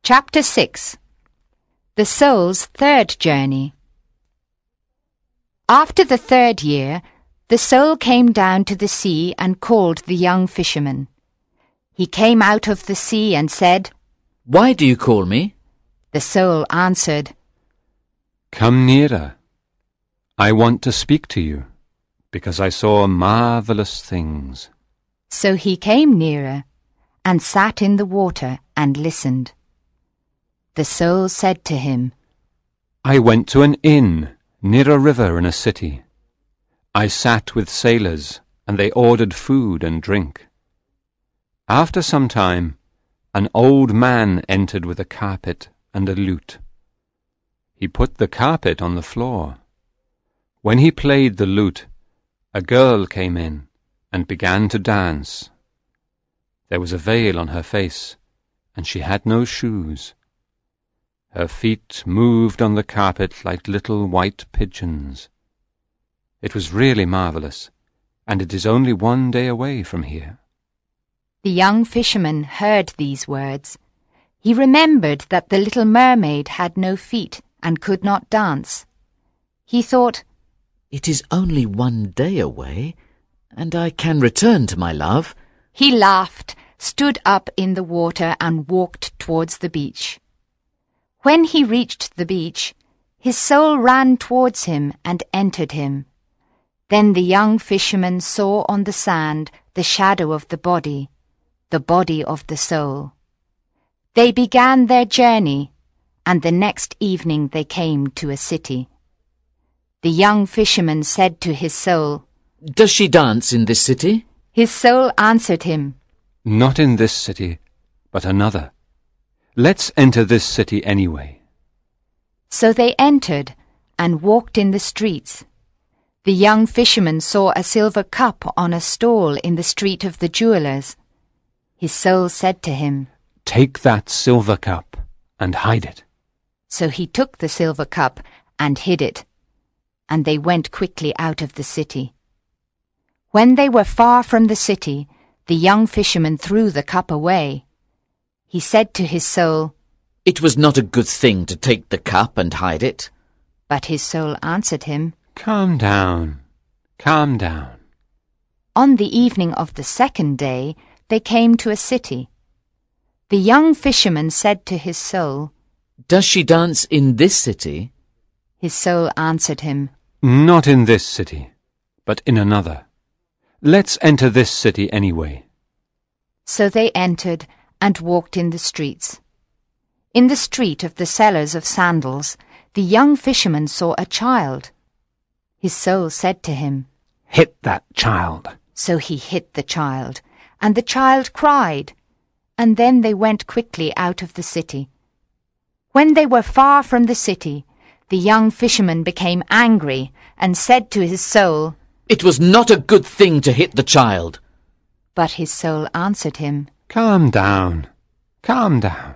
Chapter 6. The Soul's Third Journey. After the 3rd year, the soul came down to the sea and called the young fisherman. He came out of the sea and said, "Why do you call me?" The soul answered, "Come nearer. I want to speak to you, because I saw marvelous things." So he came nearer and sat in the water and listened. The soul said to him, I went to an inn near a river in a city. I sat with sailors, and they ordered food and drink. After some time, an old man entered with a carpet and a lute. He put the carpet on the floor. When he played the lute, a girl came in and began to dance. There was a veil on her face, and she had no shoes. Her feet moved on the carpet like little white pigeons. It was really marvelous, and it is only 1 day away from here. The young fisherman heard these words. He remembered that the little mermaid had no feet and could not dance. He thought, "It is only 1 day away, and I can return to my love." He laughed, stood up in the water and walked towards the beach. When he reached the beach, his soul ran towards him and entered him. Then the young fisherman saw on the sand the shadow of the body of the soul. They began their journey, and the next evening they came to a city. The young fisherman said to his soul, "Does she dance in this city?" His soul answered him, Not in this city, but another. Let's enter this city anyway. So they entered and walked in the streets. The young fisherman saw a silver cup on a stall in the street of the jewelers. His soul said to him, Take that silver cup and hide it. So he took the silver cup and hid it, and they went quickly out of the city. When they were far from the city, the young fisherman threw the cup away. He said to his soul, "It was not a good thing to take the cup and hide it." But his soul answered him, Calm down, calm down. On the evening of the 2nd day, they came to a city. The young fisherman said to his soul, "Does she dance in this city?" His soul answered him, Not in this city, but in another. Let's enter this city anyway. So they entered and walked in the streets. In the street of the sellers of sandals, the young fisherman saw a child. His soul said to him, Hit that child. So he hit the child, and the child cried, and then they went quickly out of the city. When they were far from the city, the young fisherman became angry and said to his soul, "It was not a good thing to hit the child." But his soul answered him, Calm down, calm down.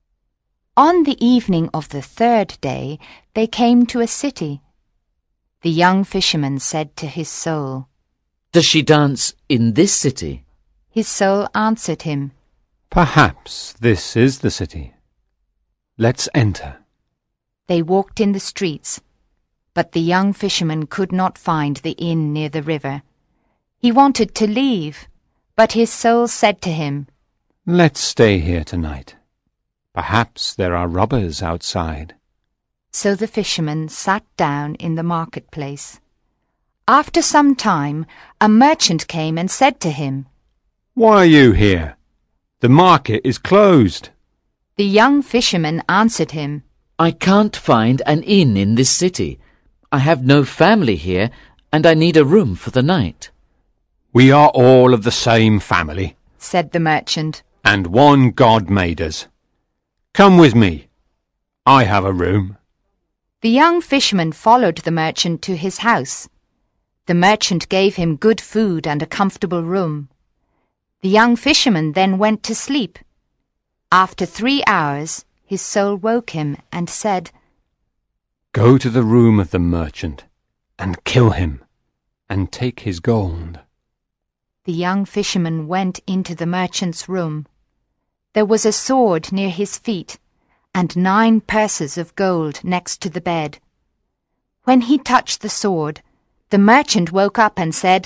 On the evening of the 3rd day, they came to a city. The young fisherman said to his soul, "Does she dance in this city?" His soul answered him, Perhaps this is the city. Let's enter. They walked in the streets, but the young fisherman could not find the inn near the river. He wanted to leave, but his soul said to him, Let's stay here tonight. Perhaps there are robbers outside. So the fisherman sat down in the marketplace. After some time, a merchant came and said to him, Why are you here? The market is closed. The young fisherman answered him, "I can't find an inn in this city. I have no family here, and I need a room for the night." We are all of the same family, said the merchant. and one God made us. Come with me. I have a room. The young fisherman followed the merchant to his house. The merchant gave him good food and a comfortable room. The young fisherman then went to sleep. After 3 hours, his soul woke him and said, Go to the room of the merchant and kill him and take his gold. The young fisherman went into the merchant's room. There was a sword near his feet, and 9 purses of gold next to the bed. When he touched the sword, the merchant woke up and said,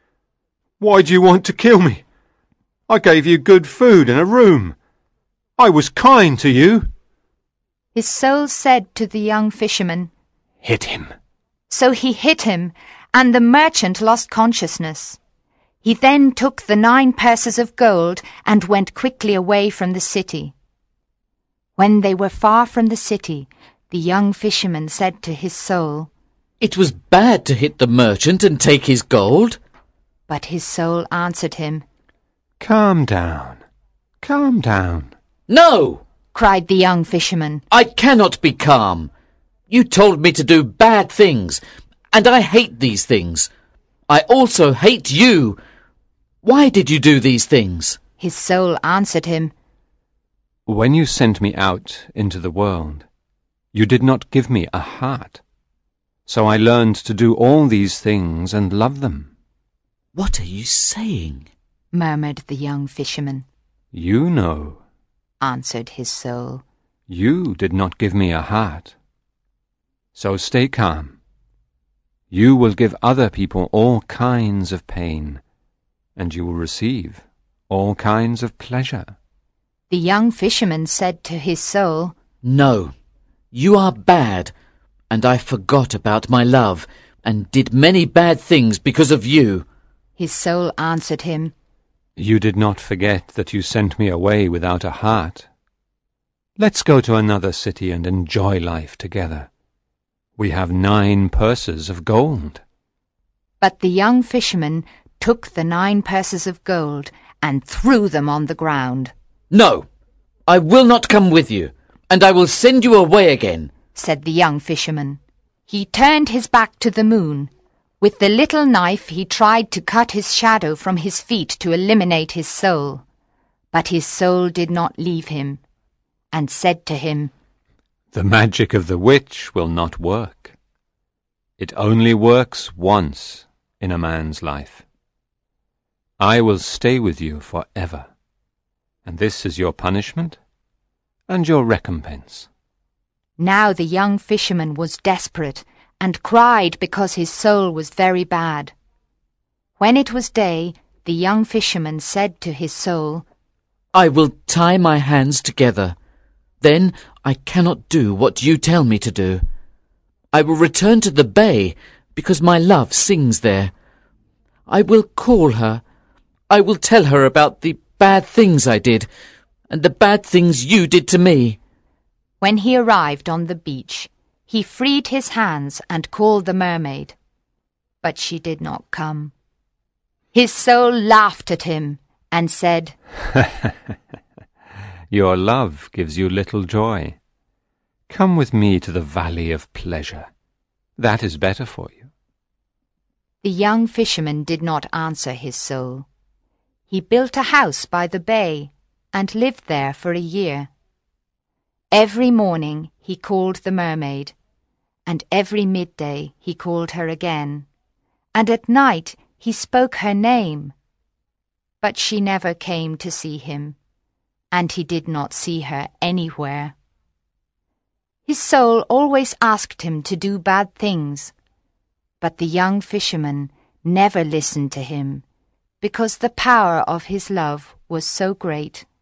"Why do you want to kill me? I gave you good food and a room. I was kind to you." His soul said to the young fisherman, "Hit him." So he hit him, and the merchant lost consciousness. He then took the 9 purses of gold and went quickly away from the city. When they were far from the city, the young fisherman said to his soul, "It was bad to hit the merchant and take his gold." But his soul answered him, "Calm down, calm down." "No!" cried the young fisherman. "I cannot be calm. You told me to do bad things, and I hate these things. I also hate you. Why did you do these things?" His soul answered him, When you sent me out into the world, you did not give me a heart. So I learned to do all these things and love them. "What are you saying?" murmured the young fisherman. You know. Answered his soul. You did not give me a heart. So stay calm. You will give other people all kinds of pain, and you will receive all kinds of pleasure. The young fisherman said to his soul, "No, you are bad, and I forgot about my love, and did many bad things because of you." His soul answered him, You did not forget that you sent me away without a heart. Let's go to another city and enjoy life together. We have 9 purses of gold. But the young fisherman took the 9 purses of gold and threw them on the ground. "No, I will not come with you, and I will send you away again," said the young fisherman. He turned his back to the moon. With the little knife he tried to cut his shadow from his feet to eliminate his soul. But his soul did not leave him, and said to him, The magic of the witch will not work. It only works once in a man's life. I will stay with you forever, and this is your punishment and your recompense. Now the young fisherman was desperate and cried because his soul was very bad. When it was day, the young fisherman said to his soul, "I will tie my hands together. Then I cannot do what you tell me to do. I will return to the bay because my love sings there. I will call her. I will tell her about the bad things I did and the bad things you did to me." When he arrived on the beach, he freed his hands and called the mermaid. But she did not come. His soul laughed at him and said, Your love gives you little joy. Come with me to the valley of pleasure. That is better for you. The young fisherman did not answer his soul. He built a house by the bay and lived there for a year. Every morning he called the mermaid, and every midday he called her again, and at night he spoke her name. But she never came to see him, and he did not see her anywhere. His soul always asked him to do bad things, but the young fisherman never listened to him, because the power of his love was so great.